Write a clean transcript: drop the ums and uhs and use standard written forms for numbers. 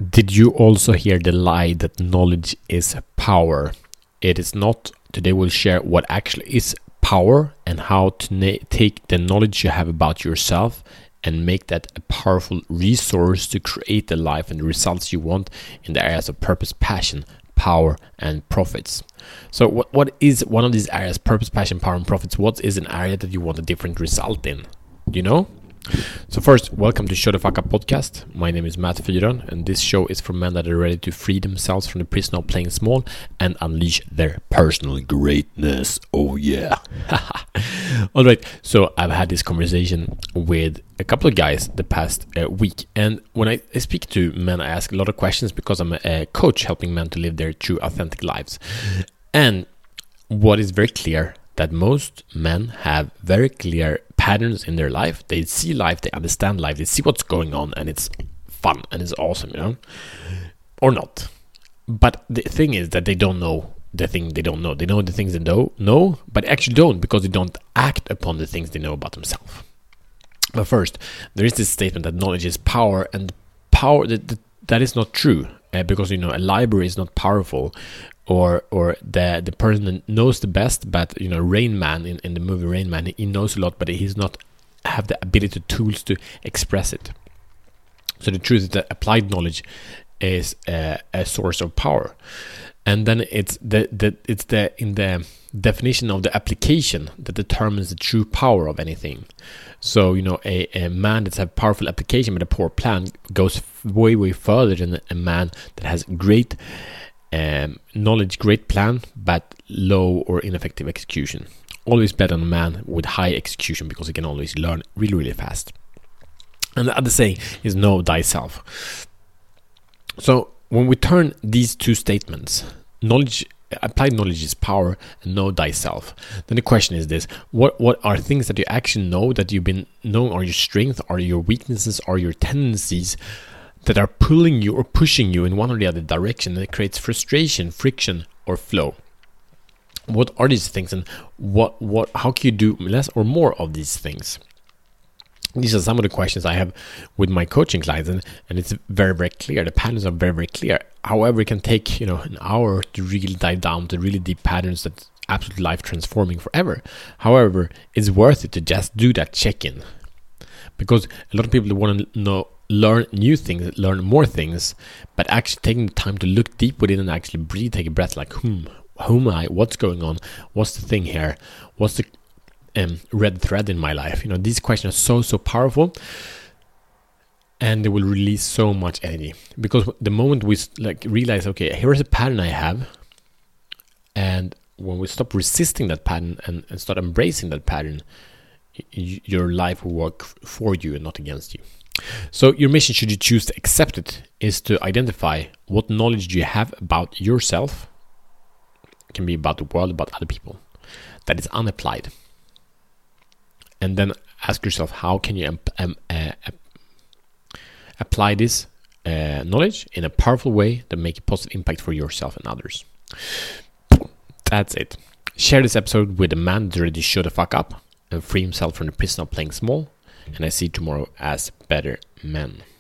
Did you also hear the lie that knowledge is power? It is not. Today we'll share what actually is power and how to take the knowledge you have about yourself and make that a powerful resource to create the life and the results you want in the areas of purpose, passion, power, and profits. So what is one of these areas, purpose, passion, power, and profits? What is an area that you want a different result in? Do you know? So first, welcome to Show the Fuck Up podcast. My name is Matt Fyron, and this show is for men that are ready to free themselves from the prison of playing small and unleash their personal greatness. Oh yeah. All right, so I've had this conversation with a couple of guys the past week, and when I speak to men, I ask a lot of questions because I'm a coach helping men to live their true, authentic lives. And what is very clear, that most men have very clear patterns in their life. They see life, they understand life, they see what's going on, and it's fun and it's awesome, you know, or not. But the thing is that they don't know the thing they don't know. They know the things they don't know, but actually don't, because they don't act upon the things they know about themselves. But first, there is this statement that knowledge is power, and power that is not true, because you know a library is not powerful. Or the person that knows the best, but you know, Rain Man in the movie Rain Man, he knows a lot, but he's not have the ability, tools to express it. So the truth is that applied knowledge is a source of power, and then it's in the definition of the application that determines the true power of anything. So you know, a man that's a powerful application but a poor plan goes way further than a man that has great knowledge, great plan, but low or ineffective execution. Always better on a man with high execution, because he can always learn really fast. And the other saying is know thyself. So when we turn these two statements, applied knowledge is power, and know thyself, then the question is this: what are things that you actually know, that you've been knowing, are your strengths, are your weaknesses, are your tendencies, that are pulling you or pushing you in one or the other direction, that creates frustration, friction, or flow? What are these things, and how can you do less or more of these things? These are some of the questions I have with my coaching clients, and it's very clear. The patterns are very clear. However, it can take an hour to really dive down to really deep patterns that's absolutely life transforming forever. However, it's worth it to just do that check-in, because a lot of people want to learn new things, learn more things, but actually taking the time to look deep within and actually breathe, take a breath, like who am I, what's going on, what's the thing here, what's the red thread in my life? These questions are so powerful, and they will release so much energy, because the moment we realize, okay, here's a pattern I have, and when we stop resisting that pattern and start embracing that pattern, your life will work for you and not against you. So your mission, should you choose to accept it, is to identify what knowledge do you have about yourself, it can be about the world, about other people, that is unapplied. And then ask yourself, how can you apply this knowledge in a powerful way that make a positive impact for yourself and others. That's it. Share this episode with a man that's ready to show the fuck up and free himself from the prison of playing small. And I see you tomorrow as better men.